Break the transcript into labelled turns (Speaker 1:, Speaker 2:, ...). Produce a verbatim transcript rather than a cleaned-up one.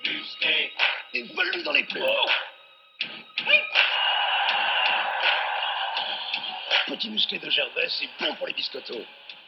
Speaker 1: musqué.
Speaker 2: Et vole-lui dans les plumes.
Speaker 1: Oh. Oui.
Speaker 2: Petit musqué de Gervais, c'est bon pour les biscottos.